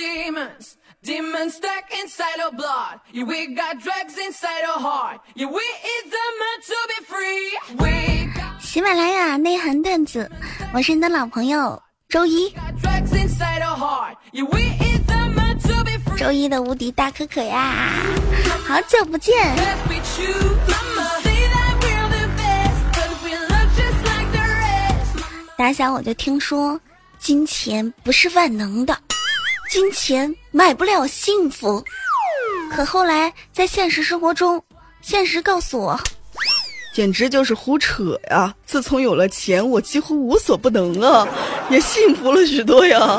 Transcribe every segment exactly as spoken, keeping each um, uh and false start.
demons, demons stuck inside our blood. Yeah, we got drugs inside our heart. Yeah, we eat them to be free. We got 喜马拉雅内涵段子，我是你的老朋友周一。 drugs inside our heart. Yeah, we eat them to be free. 周一的无敌大可可呀，好久不见。 Let's be true. Mama, say that we're the best, but we look just like the rest. 打小我就听说，金钱不是万能的，金钱买不了幸福。可后来在现实生活中，现实告诉我， 简直就是胡扯呀！自从有了钱，我几乎无所不能啊，也幸福了许多呀。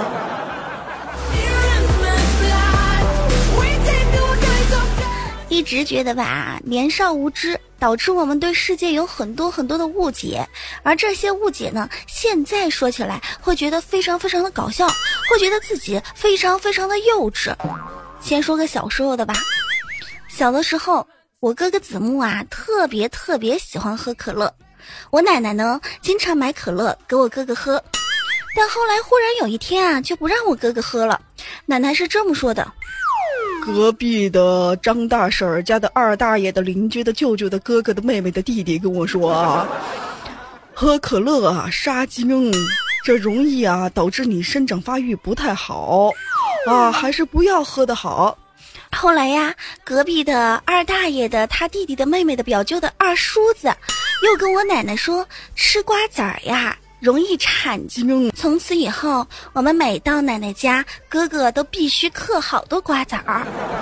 一直觉得吧，年少无知导致我们对世界有很多很多的误解，而这些误解呢，现在说起来会觉得非常非常的搞笑，会觉得自己非常非常的幼稚。先说个小时候的吧，小的时候我哥哥子木啊，特别特别喜欢喝可乐，我奶奶呢经常买可乐给我哥哥喝，但后来忽然有一天啊，就不让我哥哥喝了。奶奶是这么说的： 隔壁的张大婶儿家的二大爷的邻居的舅舅的哥哥的妹妹的弟弟跟我说啊，喝可乐啊杀精，这容易啊导致你生长发育不太好啊，还是不要喝的好。 后来呀，隔壁的二大爷的他弟弟的妹妹的表舅的二叔子又跟我奶奶说，吃瓜子儿呀容易产精。从此以后，我们每到奶奶家，哥哥都必须嗑好多瓜子儿。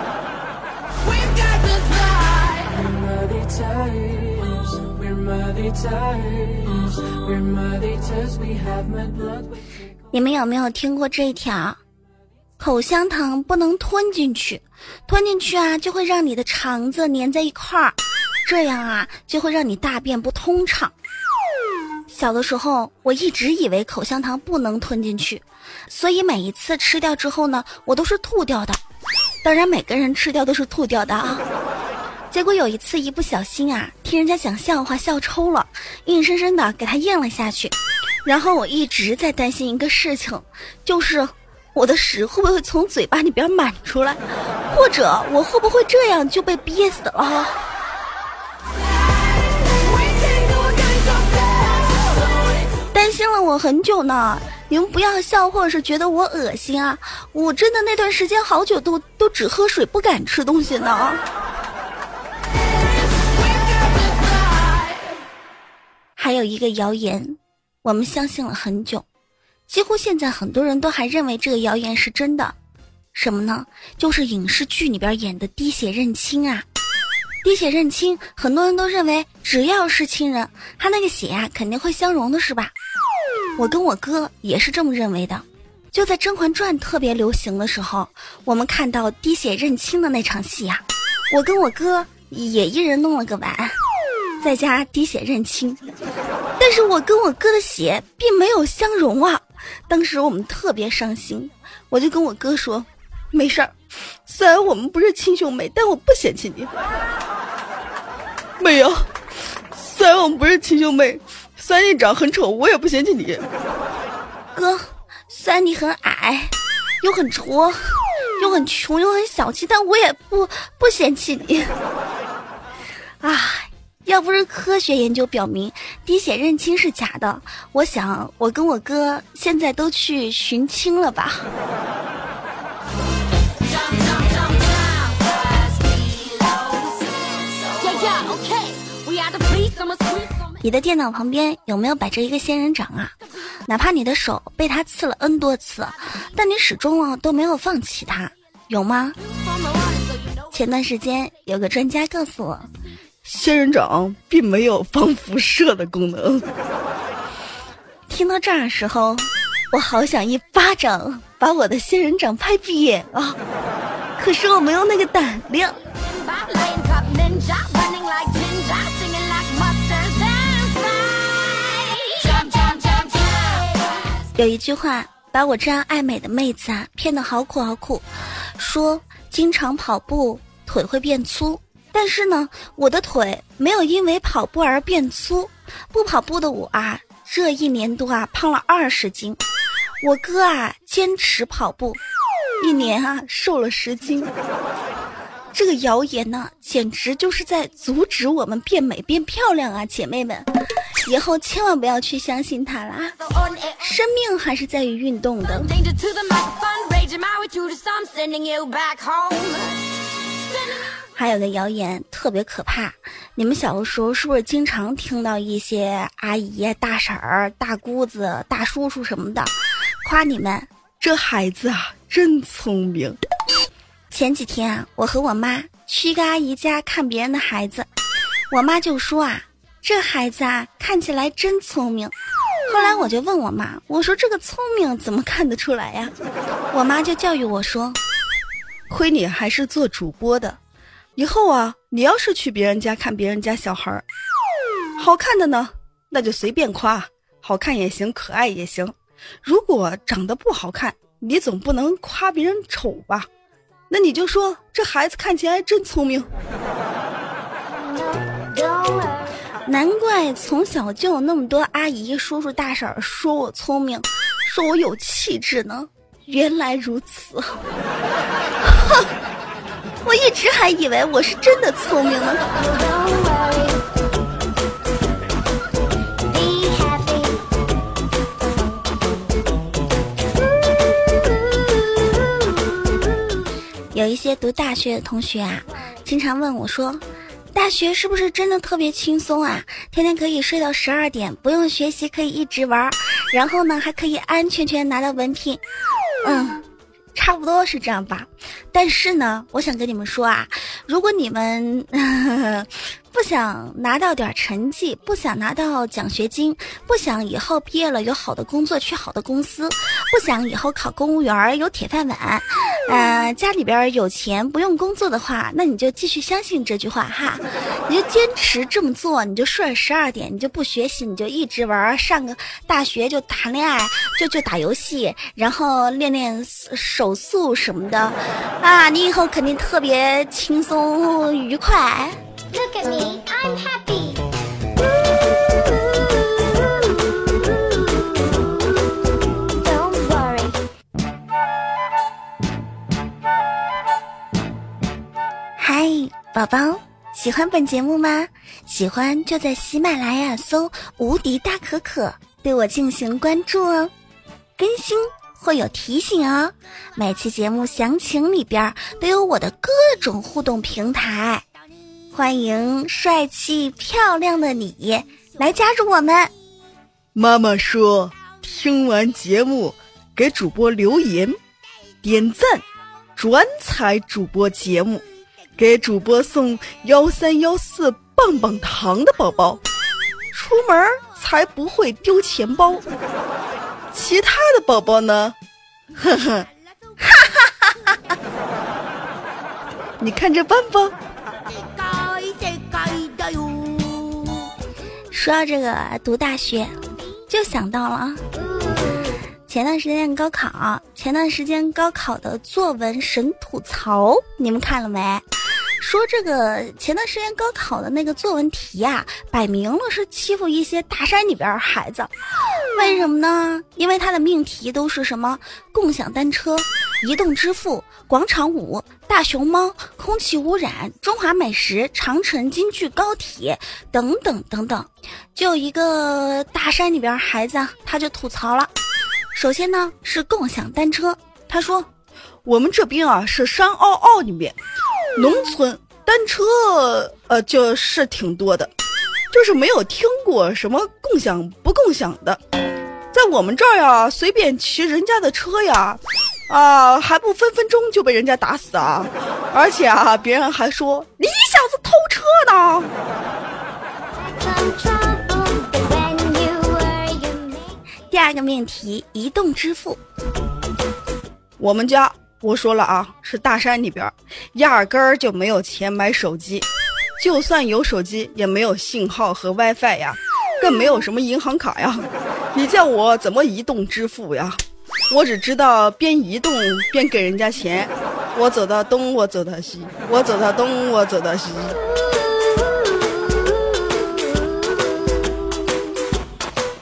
你们有没有听过这一条？口香糖不能吞进去，吞进去啊就会让你的肠子粘在一块儿，这样啊就会让你大便不通畅。小的时候我一直以为口香糖不能吞进去，所以每一次吃掉之后呢，我都是吐掉的。当然每个人吃掉都是吐掉的啊。结果有一次一不小心啊，听人家讲笑话笑抽了，硬生生的给它咽了下去。然后我一直在担心一个事情，就是我的屎会不会从嘴巴里边满出来，或者我会不会这样就被憋死了。担心了我很久呢，你们不要笑或者是觉得我恶心啊，我真的那段时间好久都都只喝水不敢吃东西呢。还有一个谣言我们相信了很久，几乎现在很多人都还认为这个谣言是真的。什么呢？就是影视剧里边演的滴血认亲啊。滴血认亲很多人都认为只要是亲人，他那个血啊肯定会相融的，是吧？我跟我哥也是这么认为的。就在《甄嬛传》特别流行的时候，我们看到滴血认亲的那场戏啊，我跟我哥也一人弄了个碗，在家滴血认亲。但是我跟我哥的血并没有相融啊，当时我们特别伤心。我就跟我哥说，没事儿，虽然我们不是亲兄妹，但我不嫌弃你。 妹呀，虽然我们不是亲兄妹，虽然你长很丑，我也不嫌弃你。 哥，虽然你很矮，又很矬，又很穷，又很小气，但我也不不嫌弃你。啊，要不是科学研究表明滴血认亲是假的，我想我跟我哥现在都去寻亲了吧。你的电脑旁边有没有摆着一个仙人掌啊？哪怕你的手被它刺了 N 多次，但你始终啊都没有放弃它，有吗？前段时间有个专家告诉我， 仙人掌并没有防辐射的功能。 听到这儿的时候，我好想一巴掌把我的仙人掌拍扁啊！可是我没有那个胆量。有一句话把我这样爱美的妹子啊骗得好苦好苦，说经常跑步腿会变粗，但是呢我的腿没有因为跑步而变粗，不跑步的我啊这一年多啊胖了二十斤。我哥啊坚持跑步， 一年啊瘦了十斤。这个谣言呢，简直就是在阻止我们变美变漂亮啊，姐妹们，以后千万不要去相信它啦，生命还是在于运动的。还有个谣言特别可怕，你们小的时候是不是经常听到一些阿姨、大婶儿、大姑子、大叔叔什么的夸你们这孩子啊真聪明。 前几天啊，我和我妈去一个阿姨家看别人的孩子，我妈就说啊，这孩子啊看起来真聪明。后来我就问我妈，我说这个聪明怎么看得出来呀？我妈就教育我说， 亏你还是做主播的，以后啊你要是去别人家看别人家小孩好看的呢，那就随便夸，好看也行，可爱也行。如果长得不好看，你总不能夸别人丑吧，那你就说这孩子看起来真聪明。 难怪从小就有那么多阿姨叔叔大婶说我聪明，说我有气质呢，原来如此。我一直还以为我是真的聪明呢。有一些读大学的同学啊，经常问我说，大学是不是真的特别轻松啊？天天可以睡到十二点，不用学习，可以一直玩，然后呢还可以安安全全拿到文凭。嗯，差不多是这样吧。但是呢，我想跟你们说啊，如果你们呵呵不想拿到点成绩，不想拿到奖学金，不想以后毕业了有好的工作，去好的公司，不想以后考公务员有铁饭碗，呃，家里边有钱不用工作的话，那你就继续相信这句话哈，你就坚持这么做，你就睡十二点，你就不学习，你就一直玩，上个大学就谈恋爱，就就打游戏，然后练练手速什么的，啊，你以后肯定特别轻松愉快。Look at me, I'm happy. 嗨，宝宝，喜欢本节目吗？喜欢就在喜马拉雅搜无敌大可可，对我进行关注哦，更新会有提醒哦。每期节目详情里边都有我的各种互动平台，欢迎帅气漂亮的你来加入我们。 妈妈说，听完节目给主播留言、点赞、转采主播节目，给主播送幺三幺四棒棒糖的宝宝，出门才不会丢钱包。其他的宝宝呢？呵呵，哈哈哈哈！你看着办吧。 说到这个读大学，就想到了前段时间高考，前段时间高考的作文神吐槽，你们看了没？说这个前段时间高考的那个作文题啊，摆明了是欺负一些大山里边孩子。为什么呢？因为它的命题都是什么共享单车、移动支付、广场舞、大熊猫、空气污染、中华美食、长城、京剧、高铁等等等等。就有一个大山里边孩子啊，他就吐槽了。首先呢是共享单车，他说我们这边啊是山坳坳里面，农村单车呃就是挺多的，就是没有听过什么共享不共享的。在我们这儿呀，随便骑人家的车呀，啊还不分分钟就被人家打死啊！而且啊，别人还说你小子偷车呢。 第二个命题，移动支付。 我们家我说了啊，是大山里边，压根儿就没有钱买手机，就算有手机也没有信号和 WiFi 呀，更没有什么银行卡呀。你叫我怎么移动支付呀？我只知道边移动边给人家钱，我走到东我走到西，我走到东我走到西。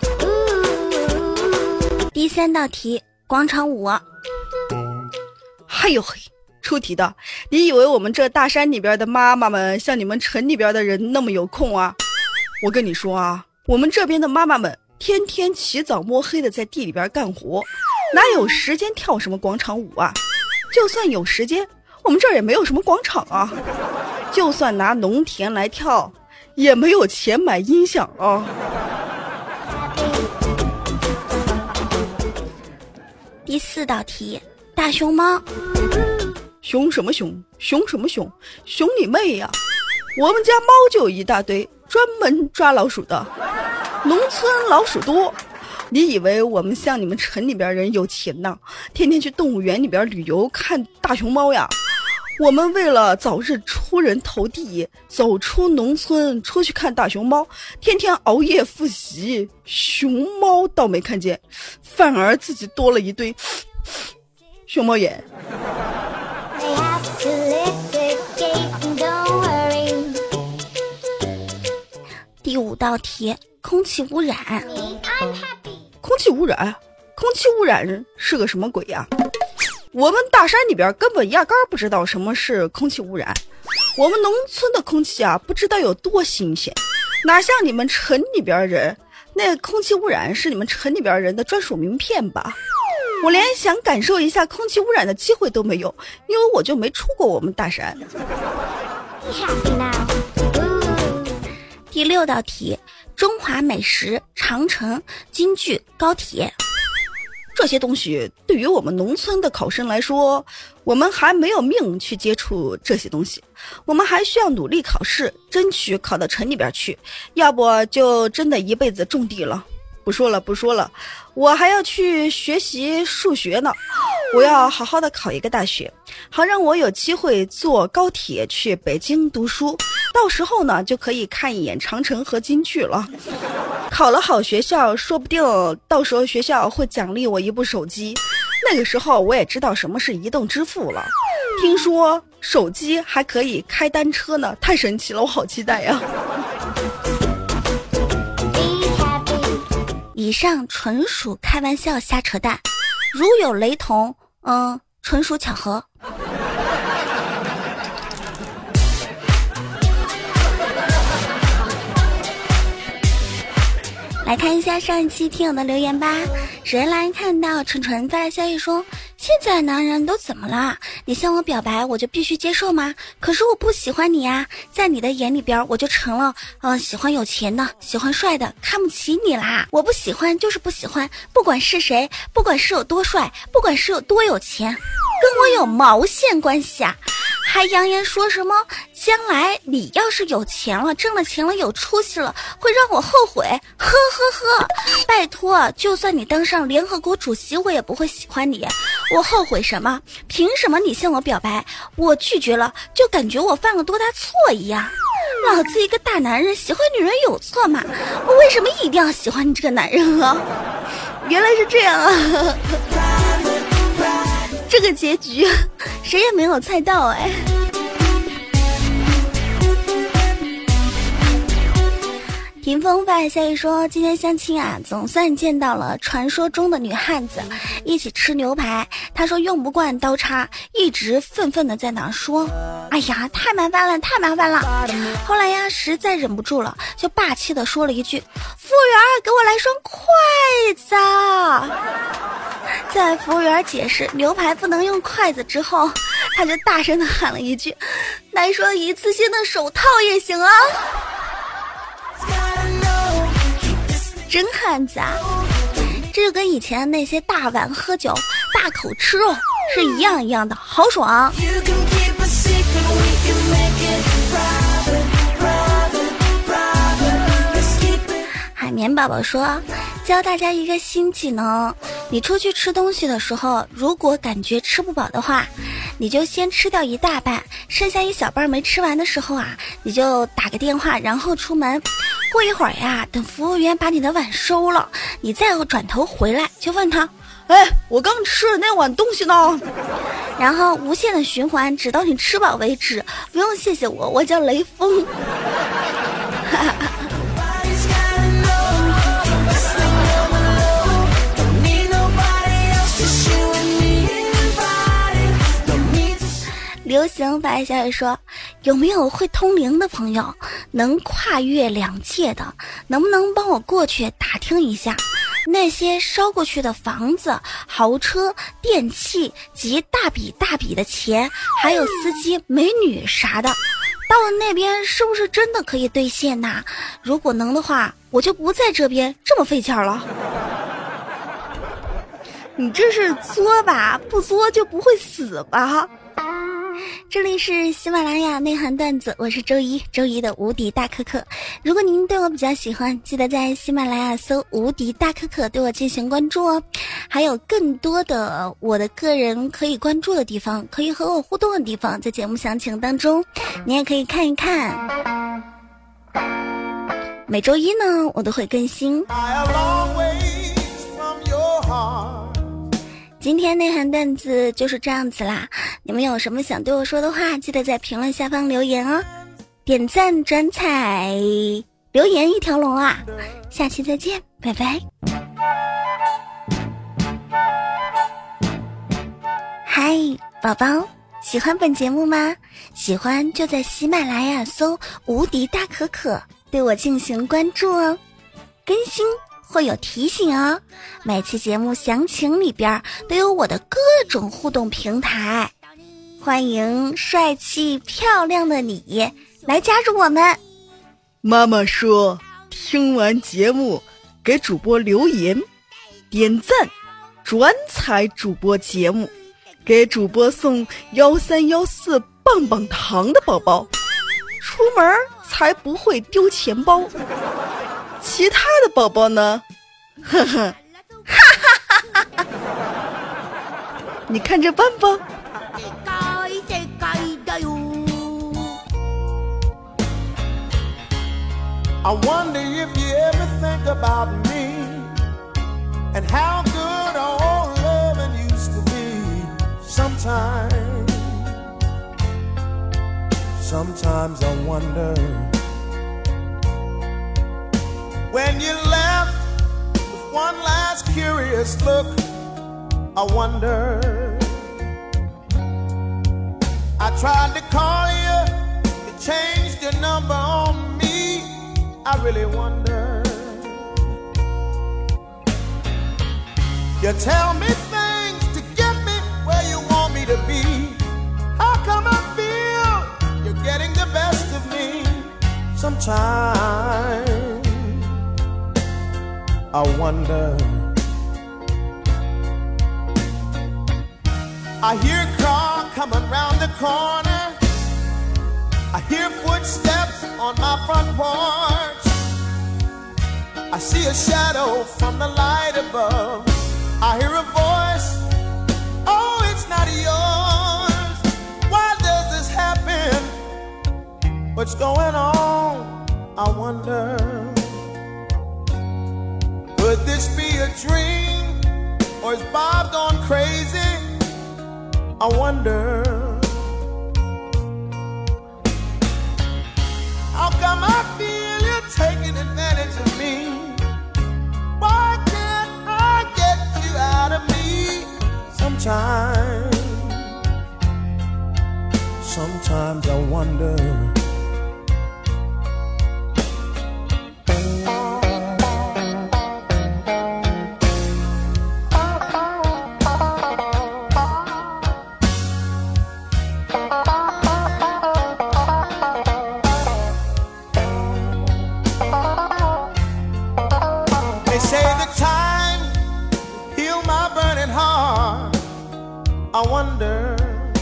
第三道题，广场舞。 哎呦嘿，出题的，你以为我们这大山里边的妈妈们像你们城里边的人那么有空啊？我跟你说啊，我们这边的妈妈们天天起早摸黑的在地里边干活，哪有时间跳什么广场舞啊？就算有时间，我们这儿也没有什么广场啊。就算拿农田来跳，也没有钱买音响啊。 第四道题，大熊猫。 熊什么熊？熊什么熊？熊你妹呀！我们家猫就有一大堆，专门抓老鼠的。农村老鼠多，你以为我们像你们城里边人有钱呢？天天去动物园里边旅游看大熊猫呀？我们为了早日出人头地，走出农村出去看大熊猫，天天熬夜复习。熊猫倒没看见，反而自己多了一堆熊猫眼。 第五道题，空气污染。 空气污染？空气污染是个什么鬼呀？我们大山里边根本压根儿不知道什么是空气污染，我们农村的空气啊，不知道有多新鲜，哪像你们城里边人，那空气污染是你们城里边人的专属名片吧？我连想感受一下空气污染的机会都没有，因为我就没出过我们大山。 第六道题，中华美食、长城、京剧、高铁。 这些东西对于我们农村的考生来说，我们还没有命去接触这些东西，我们还需要努力考试，争取考到城里边去，要不就真的一辈子种地了。不说了不说了，我还要去学习数学呢，我要好好的考一个大学，好让我有机会坐高铁去北京读书，到时候呢就可以看一眼长城和京剧了。考了好学校，说不定到时候学校会奖励我一部手机，那个时候我也知道什么是移动支付了。听说手机还可以开单车呢，太神奇了，我好期待呀！ 以上纯属开玩笑瞎扯淡，如有雷同，嗯，纯属巧合。来看一下上一期听友的留言吧。首先来看到纯纯发来消息说，现在男人都怎么了？你向我表白我就必须接受吗？可是我不喜欢你啊，在你的眼里边我就成了嗯、呃，喜欢有钱的，喜欢帅的，看不起你啦。我不喜欢就是不喜欢，不管是谁，不管是有多帅，不管是有多有钱，跟我有毛线关系啊。还扬言说什么将来你要是有钱了，挣了钱了，有出息了，会让我后悔。呵呵呵，拜托，就算你当上联合国主席，我也不会喜欢你。我后悔什么？凭什么你向我表白，我拒绝了，就感觉我犯了多大错一样？老子一个大男人喜欢女人有错吗？我为什么一定要喜欢你这个男人啊？原来是这样啊！这个结局谁也没有猜到哎。霆锋发来消息说，今天相亲啊，总算见到了传说中的女汉子，一起吃牛排。他说用不惯刀叉，一直愤愤的在那说，哎呀，太麻烦了，太麻烦了。后来呀，实在忍不住了，就霸气的说了一句，服务员，给我来双筷子。在服务员解释牛排不能用筷子之后，他就大声的喊了一句，来双一次性的手套也行啊。真汉子啊，这就跟以前那些大碗喝酒大口吃肉是一样一样的，好爽。海绵宝宝说，教大家一个新技能，你出去吃东西的时候，如果感觉吃不饱的话，你就先吃掉一大半，剩下一小半没吃完的时候啊，你就打个电话，然后出门。过一会儿呀，等服务员把你的碗收了，你再转头回来，就问他， 哎，我刚吃的那碗东西呢？ 然后无限的循环，直到你吃饱为止。不用谢谢我，我叫雷锋。 流行发一消息说，有没有会通灵的朋友，能跨越两界的，能不能帮我过去打听一下，那些烧过去的房子、豪车、电器及大笔大笔的钱，还有司机、美女啥的，到了那边是不是真的可以兑现呐、啊？如果能的话，我就不在这边这么费劲儿了。你这是作吧？不作就不会死吧？这里是喜马拉雅内涵段子，我是周一周一的无敌大可可。如果您对我比较喜欢，记得在喜马拉雅搜无敌大可可对我进行关注哦。还有更多的我的个人可以关注的地方，可以和我互动的地方，在节目详情当中你也可以看一看。每周一呢我都会更新。今天内涵段子就是这样子啦，你们有什么想对我说的话，记得在评论下方留言哦。点赞转采留言一条龙啊，下期再见，拜拜。嗨，宝宝，喜欢本节目吗？喜欢就在喜马拉雅搜无敌大可可对我进行关注哦，更新会有提醒哦，每期节目详情里边都有我的各种互动平台，欢迎帅气漂亮的你来加入我们。 妈妈说，听完节目给主播留言、点赞、转采主播节目，给主播送幺三幺四棒棒糖的宝宝，出门才不会丢钱包。其他的宝宝呢？呵呵，哈哈哈哈！你看着办吧。 I wonder if you ever think about me and how good our loving used to be. Sometimes, sometimes I wonder. When you left with one last curious look, I wonder. I tried to call you, you changed your number on me. I really wonder. You tell me things to get me where you want me to be. How come I feel you're getting the best of me? Sometimes I wonder. I hear a car coming round the corner. I hear footsteps on my front porch. I see a shadow from the light above. I hear a voice, oh, it's not yours. Why does this happen? What's going on? I wonder. Could this be a dream, or is Bob gone crazy? I wonder. How come I feel you're taking advantage of me? Why can't I get you out of me? Sometimes, sometimes I wonder. They say the time heal my burning heart. I wonder,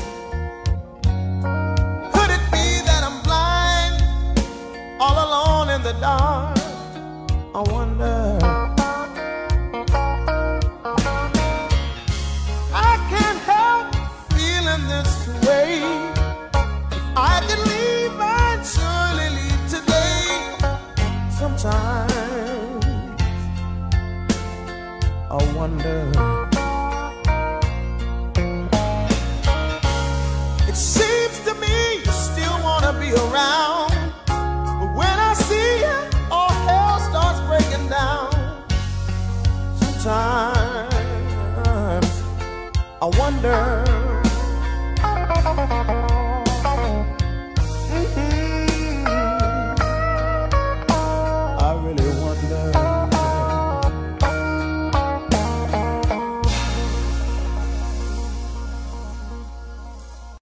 could it be that I'm blind, all alone in the dark? I wonder. I can't help feeling this way. If I could leave, I'd surely leave today. Sometimes I wonder. It seems to me you still want to be around, but when I see you, all hell starts breaking down. Sometimes I wonder.